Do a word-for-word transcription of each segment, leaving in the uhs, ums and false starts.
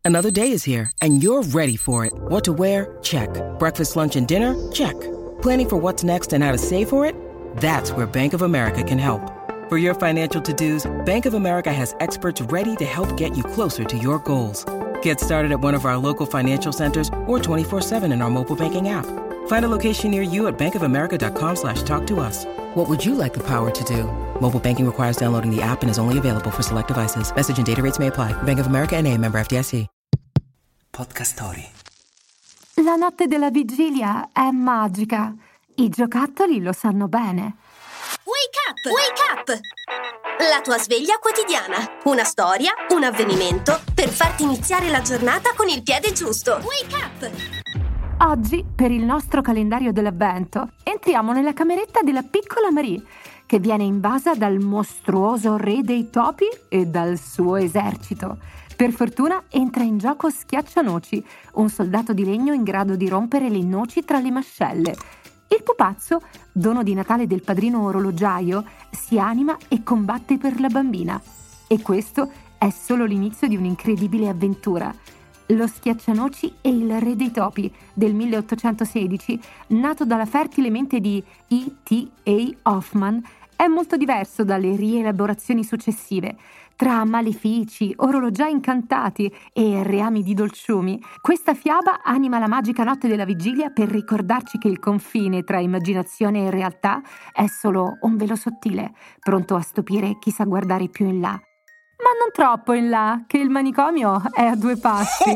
Another day is here, and you're ready for it. What to wear? Check. Breakfast, lunch, and dinner? Check. Planning for what's next and how to save for it? That's where Bank of America can help. For your financial to-dos, Bank of America has experts ready to help get you closer to your goals. Get started at one of our local financial centers or twenty-four seven in our mobile banking app. Find a location near you at bankofamerica.com slash talk to us. What would you like the power to do? Mobile banking requires downloading the app and is only available for select devices. Message and data rates may apply. Bank of America N A, member F D I C. Podcast Story. La notte della vigilia è magica. I giocattoli lo sanno bene. Wake up! Wake up! La tua sveglia quotidiana. Una storia, un avvenimento per farti iniziare la giornata con il piede giusto. Wake up! Oggi, per il nostro calendario dell'avvento, entriamo nella cameretta della piccola Marie, che viene invasa dal mostruoso re dei topi e dal suo esercito. Per fortuna entra in gioco Schiaccianoci, un soldato di legno in grado di rompere le noci tra le mascelle. Il pupazzo, dono di Natale del padrino orologiaio, si anima e combatte per la bambina. E questo è solo l'inizio di un'incredibile avventura. Lo Schiaccianoci e il re dei topi del milleottocentosedici, nato dalla fertile mente di E T A Hoffman, è molto diverso dalle rielaborazioni successive. Tra malefici, orologiai incantati e reami di dolciumi, questa fiaba anima la magica notte della vigilia per ricordarci che il confine tra immaginazione e realtà è solo un velo sottile, pronto a stupire chi sa guardare più in là. Ma non troppo in là, che il manicomio è a due passi.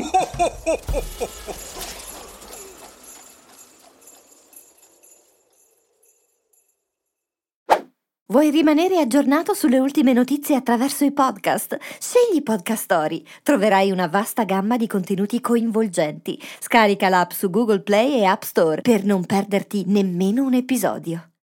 Vuoi rimanere aggiornato sulle ultime notizie attraverso i podcast? Scegli Podcast Story. Troverai una vasta gamma di contenuti coinvolgenti. Scarica l'app su Google Play e App Store per non perderti nemmeno un episodio.